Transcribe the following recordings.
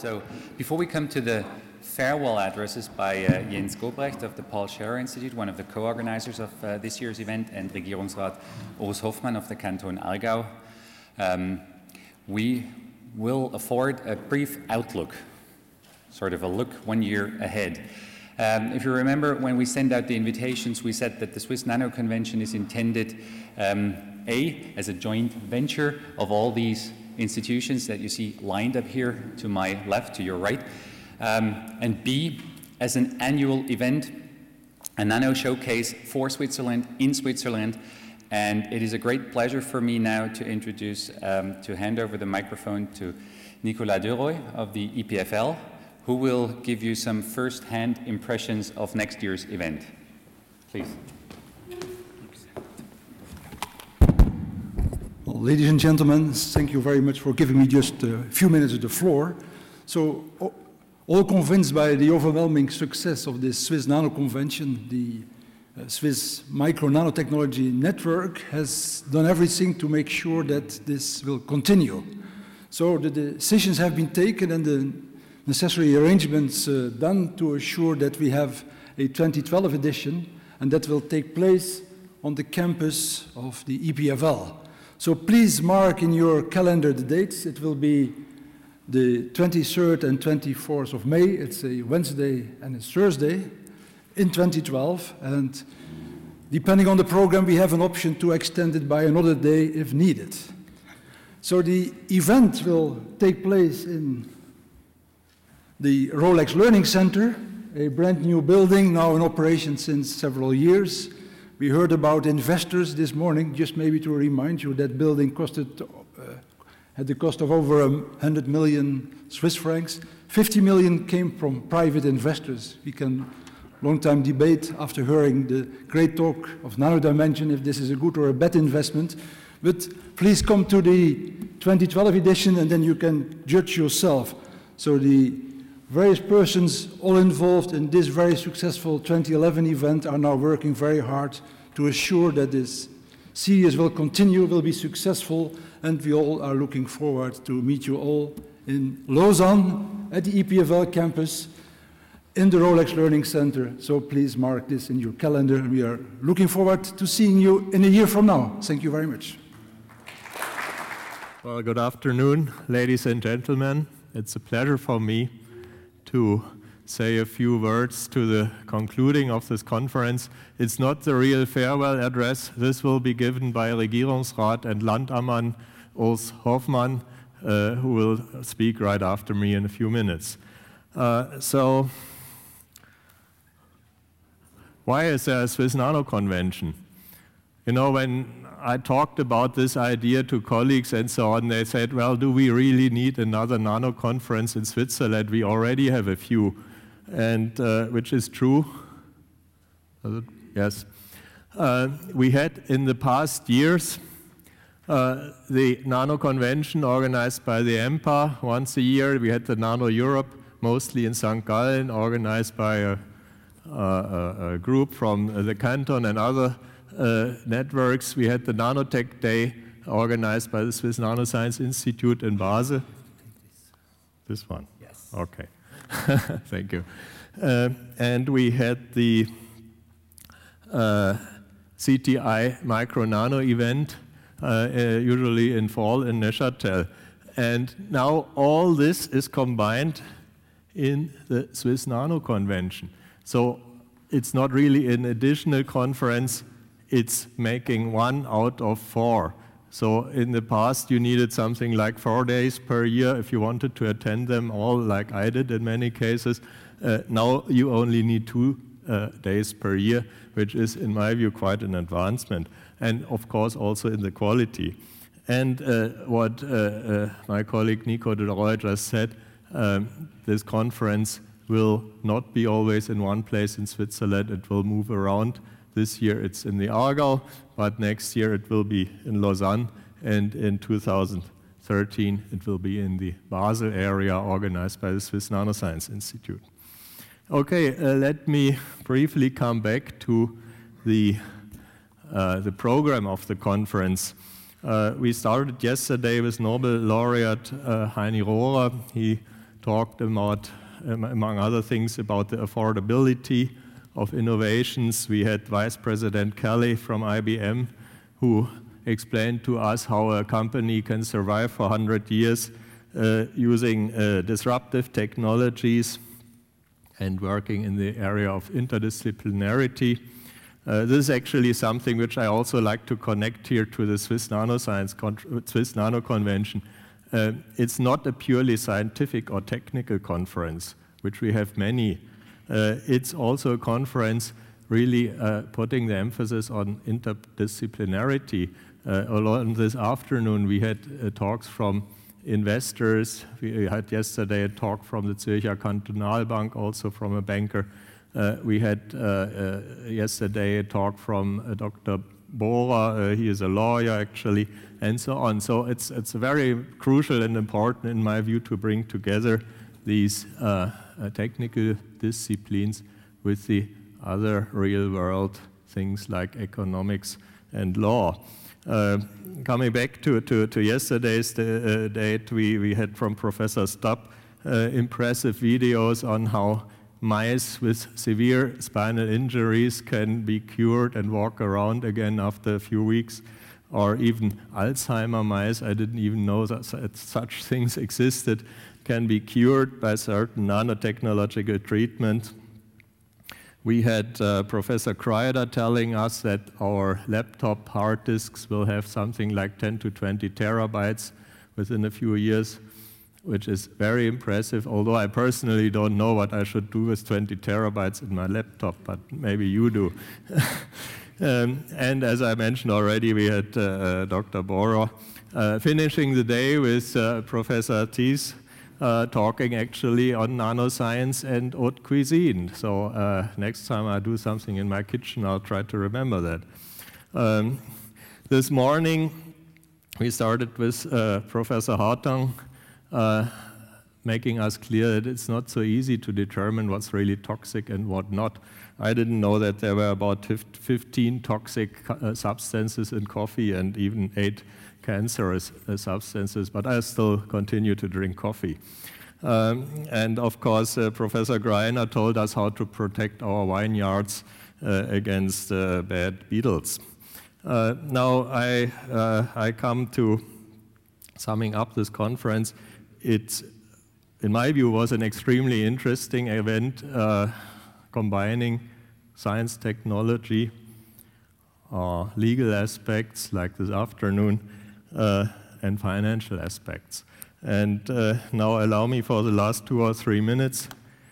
So before we come to the farewell addresses by Jens Gobrecht of the Paul Scherrer Institute, one of the co-organizers of this year's event, and Regierungsrat Urs Hoffmann of the Canton Aargau, we will afford a brief outlook, sort of a look 1 year ahead. If you remember, when we sent out the invitations, we said that the Swiss Nano Convention is intended, as a joint venture of all these institutions that you see lined up here to my left, to your right, and B, as an annual event, a nano showcase for Switzerland, in Switzerland. And it is a great pleasure for me now to introduce, to hand over the microphone to Nicolas Deroy of the EPFL, who will give you some first-hand impressions of next year's event. Please. Well, ladies and gentlemen, thank you very much for giving me just a few minutes of the floor. So, all convinced by the overwhelming success of this Swiss Nano Convention, the Swiss Micro Nanotechnology Network has done everything to make sure that this will continue. So the decisions have been taken and the necessary arrangements done to assure that we have a 2012 edition, and that will take place on the campus of the EPFL. So please mark in your calendar the dates. It will be the 23rd and 24th of May. It's a Wednesday and a Thursday in 2012, and depending on the program, we have an option to extend it by another day if needed. So the event will take place in the Rolex Learning Center, a brand new building now in operation since several years. We heard about investors this morning. Just maybe to remind you, that building had the cost of over 100 million Swiss francs. 50 million came from private investors. We can long time debate after hearing the great talk of Nano Dimension if this is a good or a bad investment. But please come to the 2012 edition and then you can judge yourself. So the various persons all involved in this very successful 2011 event are now working very hard to assure that this series will continue, will be successful, and we all are looking forward to meet you all in Lausanne at the EPFL campus in the Rolex Learning Center. So please mark this in your calendar. We are looking forward to seeing you in a year from now. Thank you very much. Well, good afternoon, ladies and gentlemen. It's a pleasure for me to say a few words to the concluding of this conference. It's not the real farewell address. This will be given by Regierungsrat and Landammann Urs Hoffmann, who will speak right after me in a few minutes. So, why is there a Swiss Nano Convention? You know, when I talked about this idea to colleagues and so on, they said, well, do we really need another nano conference in Switzerland? We already have a few, and which is true. Yes. We had in the past years the Nano Convention organized by the EMPA once a year. We had the Nano Europe, mostly in St. Gallen, organized by a group from the canton and other networks. We had the Nanotech Day organized by the Swiss Nanoscience Institute in Basel. This one? Yes. Okay. Thank you. And we had the CTI Micro Nano event, usually in fall in Neuchâtel. And now all this is combined in the Swiss Nano Convention. So it's not really an additional conference, it's making 1 out of 4. So in the past you needed something like 4 days per year if you wanted to attend them all, like I did in many cases. Now you only need 2 days per year, which is in my view quite an advancement. And of course also in the quality. And what my colleague Nico Deroy just said, this conference will not be always in one place in Switzerland. It will move around. This year it's in the Aargau, but next year it will be in Lausanne, and in 2013 it will be in the Basel area organized by the Swiss Nanoscience Institute. Okay, let me briefly come back to the program of the conference. We started yesterday with Nobel laureate Heini Rohrer. He talked about, among other things, about the affordability of innovations. We had Vice President Kelly from IBM, who explained to us how a company can survive for 100 years using disruptive technologies and working in the area of interdisciplinarity. This is actually something which I also like to connect here to the Swiss Nano Convention. It's not a purely scientific or technical conference, which we have many. It's also a conference really putting the emphasis on interdisciplinarity. Along this afternoon, we had talks from investors. We had yesterday a talk from the Zürcher Kantonalbank, also from a banker. We had yesterday a talk from Dr. Bohrer, he is a lawyer actually, and so on. So it's very crucial and important in my view to bring together these technical disciplines with the other real world things like economics and law. Coming back to yesterday's date, we had from Professor Stubb impressive videos on how mice with severe spinal injuries can be cured and walk around again after a few weeks, or even Alzheimer mice, I didn't even know that such things existed, can be cured by certain nanotechnological treatment. We had Professor Kreider telling us that our laptop hard disks will have something like 10 to 20 terabytes within a few years, which is very impressive, although I personally don't know what I should do with 20 terabytes in my laptop, but maybe you do. And as I mentioned already, we had Dr. Bohrer finishing the day with Professor Thies talking actually on nanoscience and haute cuisine. So next time I do something in my kitchen, I'll try to remember that. This morning, we started with Professor Hartung, making us clear that it's not so easy to determine what's really toxic and what not. I didn't know that there were about 15 toxic substances in coffee and even 8 cancerous substances, but I still continue to drink coffee. And of course, Professor Greiner told us how to protect our vineyards against bad beetles. Now I come to summing up this conference. It, in my view, was an extremely interesting event combining science, technology, legal aspects like this afternoon, and financial aspects. And now allow me for the last 2 or 3 minutes,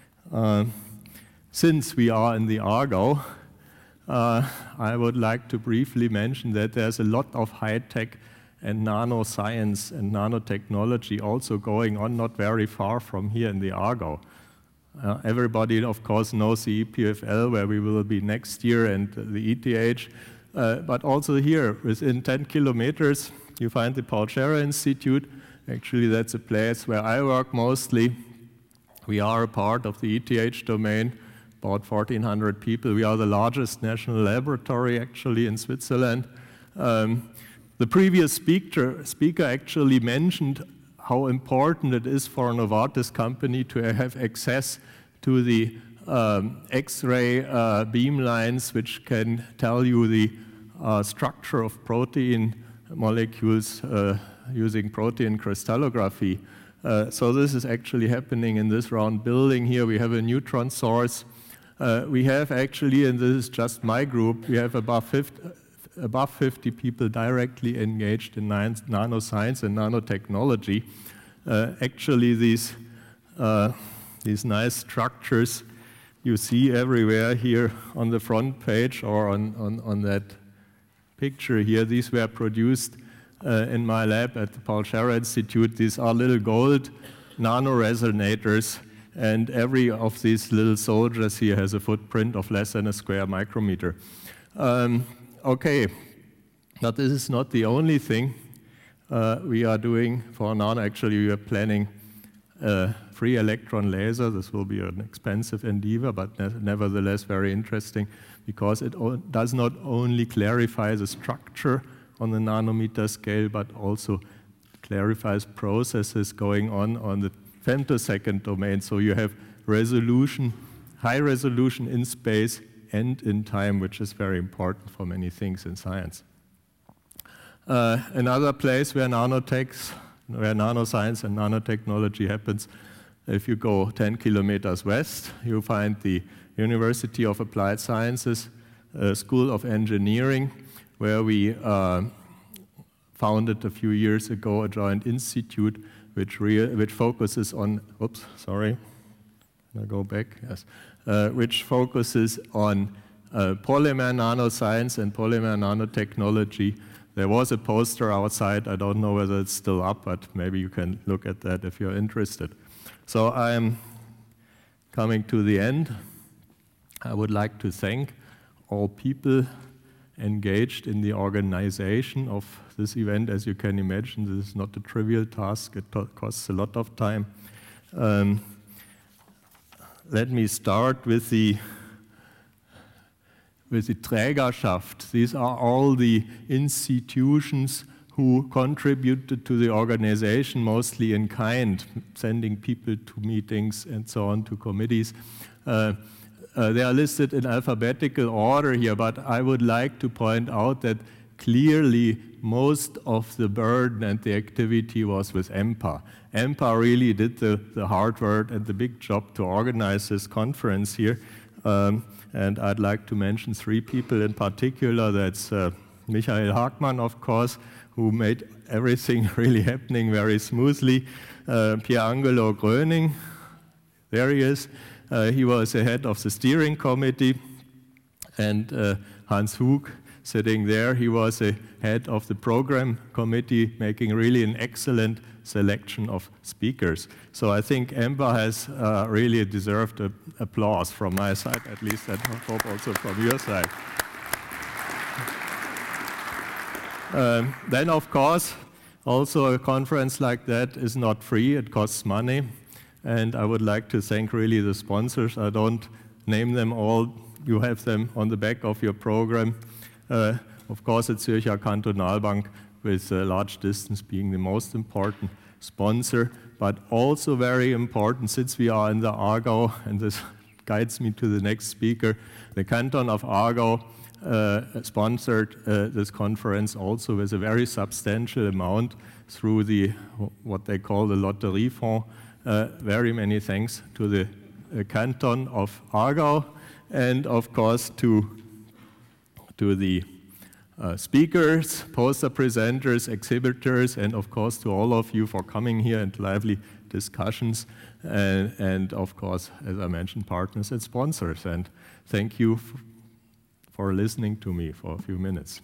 since we are in the Aargau, I would like to briefly mention that there's a lot of high-tech and nanoscience and nanotechnology also going on not very far from here in the Aargau. Everybody, of course, knows the EPFL, where we will be next year, and the ETH, but also here, within 10 kilometers, you find the Paul Scherrer Institute. Actually, that's a place where I work mostly. We are a part of the ETH domain, about 1,400 people. We are the largest national laboratory, actually, in Switzerland. The previous speaker actually mentioned how important it is for a Novartis company to have access to the X-ray beamlines, which can tell you the structure of protein molecules using protein crystallography. So this is actually happening in this round building here. We have a neutron source. We have actually, and this is just my group, we have above 50 people directly engaged in nanoscience and nanotechnology. Actually, these nice structures you see everywhere here on the front page or on that picture here, these were produced in my lab at the Paul Scherrer Institute. These are little gold nanoresonators, and every of these little soldiers here has a footprint of less than a square micrometer. Okay, but this is not the only thing we are doing for nano. Actually, we are planning a free electron laser. This will be an expensive endeavor, but nevertheless very interesting, because it does not only clarify the structure on the nanometer scale, but also clarifies processes going on the femtosecond domain, so you have resolution, high resolution in space and in time, which is very important for many things in science. Another place where nanoscience and nanotechnology happens, if you go 10 kilometers west, you find the University of Applied Sciences School of Engineering, where we founded a few years ago a joint institute which focuses on, oops, sorry, can I go back? Yes. Which focuses on polymer nanoscience and polymer nanotechnology. There was a poster outside. I don't know whether it's still up, but maybe you can look at that if you're interested. So I am coming to the end. I would like to thank all people engaged in the organization of this event. As you can imagine, this is not a trivial task. It costs a lot of time. Let me start with the Trägerschaft. These are all the institutions who contributed to the organization, mostly in kind, sending people to meetings and so on, to committees. They are listed in alphabetical order here, but I would like to point out that clearly most of the burden and the activity was with EMPA. EMPA really did the hard work and the big job to organize this conference here. And I'd like to mention three people in particular. That's Michael Hagmann, of course, who made everything really happening very smoothly. Pierangelo Gröning, there he is. He was the head of the steering committee. And Hans Hug, sitting there, he was the head of the program committee, making really an excellent selection of speakers. So I think EMPA has really deserved applause from my side, at least, and I hope also from your side. Then, of course, also a conference like that is not free, it costs money. And I would like to thank really the sponsors. I don't name them all, you have them on the back of your program. Of course, it's Zürcher Kantonalbank, with Large Distance being the most important sponsor, but also very important, since we are in the Aargau, and this guides me to the next speaker, the Canton of Aargau sponsored this conference also with a very substantial amount through the what they call the Lotteriefonds. Very many thanks to the Canton of Aargau, and of course to the speakers, poster presenters, exhibitors, and of course to all of you for coming here and lively discussions, and of course, as I mentioned, partners and sponsors. And thank you for listening to me for a few minutes.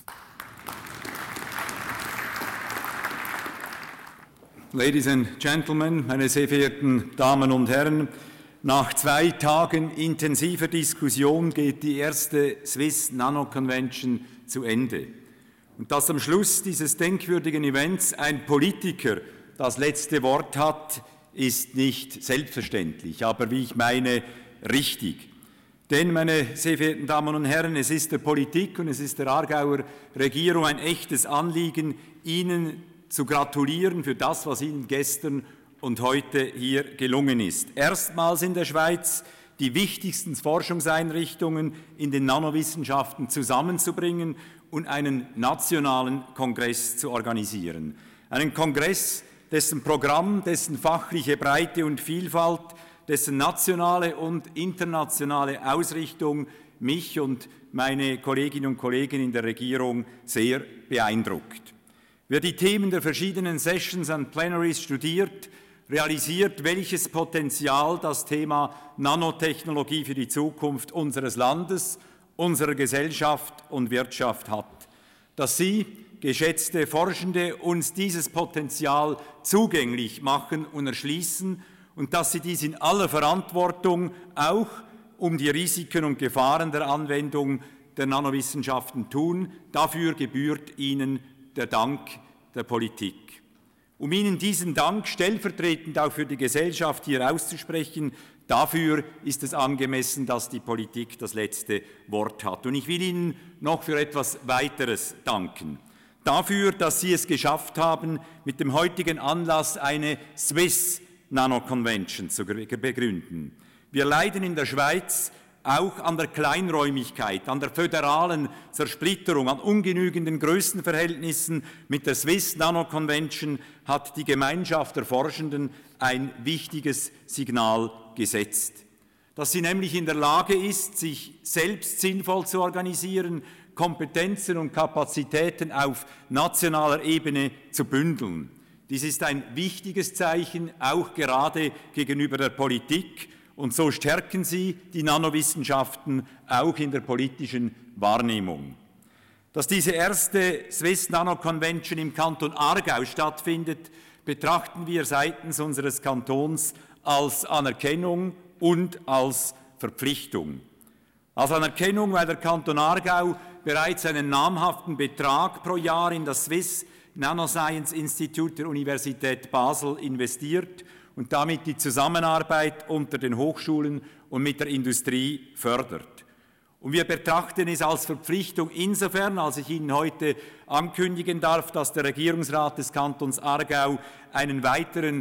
Ladies and Gentlemen, meine sehr verehrten Damen und Herren, nach 2 Tagen intensiver Diskussion geht die erste Swiss Nano Convention zu Ende. Und dass am Schluss dieses denkwürdigen Events ein Politiker das letzte Wort hat, ist nicht selbstverständlich, aber wie ich meine, richtig. Denn, meine sehr verehrten Damen und Herren, es ist der Politik und es ist der Aargauer Regierung ein echtes Anliegen, Ihnen zu gratulieren für das, was Ihnen gestern und heute hier gelungen ist. Erstmals in der Schweiz die wichtigsten Forschungseinrichtungen in den Nanowissenschaften zusammenzubringen und einen nationalen Kongress zu organisieren. Einen Kongress, dessen Programm, dessen fachliche Breite und Vielfalt, dessen nationale und internationale Ausrichtung mich und meine Kolleginnen und Kollegen in der Regierung sehr beeindruckt. Wer die Themen der verschiedenen Sessions und Plenaries studiert, realisiert, welches Potenzial das Thema Nanotechnologie für die Zukunft unseres Landes, unserer Gesellschaft und Wirtschaft hat. Dass Sie, geschätzte Forschende, uns dieses Potenzial zugänglich machen und erschließen und dass Sie dies in aller Verantwortung auch um die Risiken und Gefahren der Anwendung der Nanowissenschaften tun, dafür gebührt Ihnen der Dank der Politik. Um Ihnen diesen Dank stellvertretend auch für die Gesellschaft hier auszusprechen, dafür ist es angemessen, dass die Politik das letzte Wort hat. Und ich will Ihnen noch für etwas weiteres danken. Dafür, dass Sie es geschafft haben, mit dem heutigen Anlass eine Swiss Nano Convention zu begründen. Wir leiden in der Schweiz auch an der Kleinräumigkeit, an der föderalen Zersplitterung, an ungenügenden Größenverhältnissen. Mit der Swiss Nano Convention hat die Gemeinschaft der Forschenden ein wichtiges Signal gesetzt, dass sie nämlich in der Lage ist, sich selbst sinnvoll zu organisieren, Kompetenzen und Kapazitäten auf nationaler Ebene zu bündeln. Dies ist ein wichtiges Zeichen, auch gerade gegenüber der Politik. Und so stärken sie die Nanowissenschaften auch in der politischen Wahrnehmung. Dass diese erste Swiss Nano Convention im Kanton Aargau stattfindet, betrachten wir seitens unseres Kantons als Anerkennung und als Verpflichtung. Als Anerkennung, weil der Kanton Aargau bereits einen namhaften Betrag pro Jahr in das Swiss Nanoscience Institute der Universität Basel investiert und damit die Zusammenarbeit unter den Hochschulen und mit der Industrie fördert. Und wir betrachten es als Verpflichtung insofern, als ich Ihnen heute ankündigen darf, dass der Regierungsrat des Kantons Aargau einen weiteren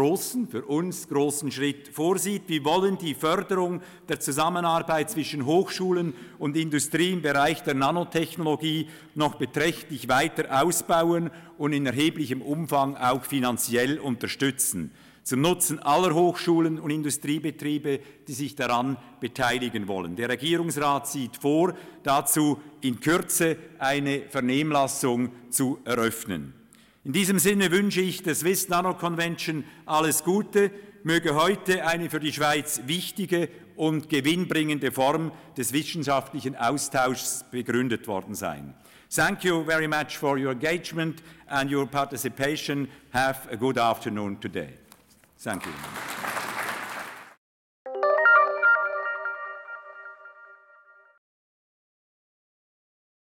für uns großen Schritt vorsieht. Wir wollen die Förderung der Zusammenarbeit zwischen Hochschulen und Industrie im Bereich der Nanotechnologie noch beträchtlich weiter ausbauen und in erheblichem Umfang auch finanziell unterstützen, zum Nutzen aller Hochschulen und Industriebetriebe, die sich daran beteiligen wollen. Der Regierungsrat sieht vor, dazu in Kürze eine Vernehmlassung zu eröffnen. In diesem Sinne wünsche ich der Swiss Nano Convention alles Gute, möge heute eine für die Schweiz wichtige und gewinnbringende Form des wissenschaftlichen Austauschs begründet worden sein. Thank you very much for your engagement and your participation. Have a good afternoon today. Thank you.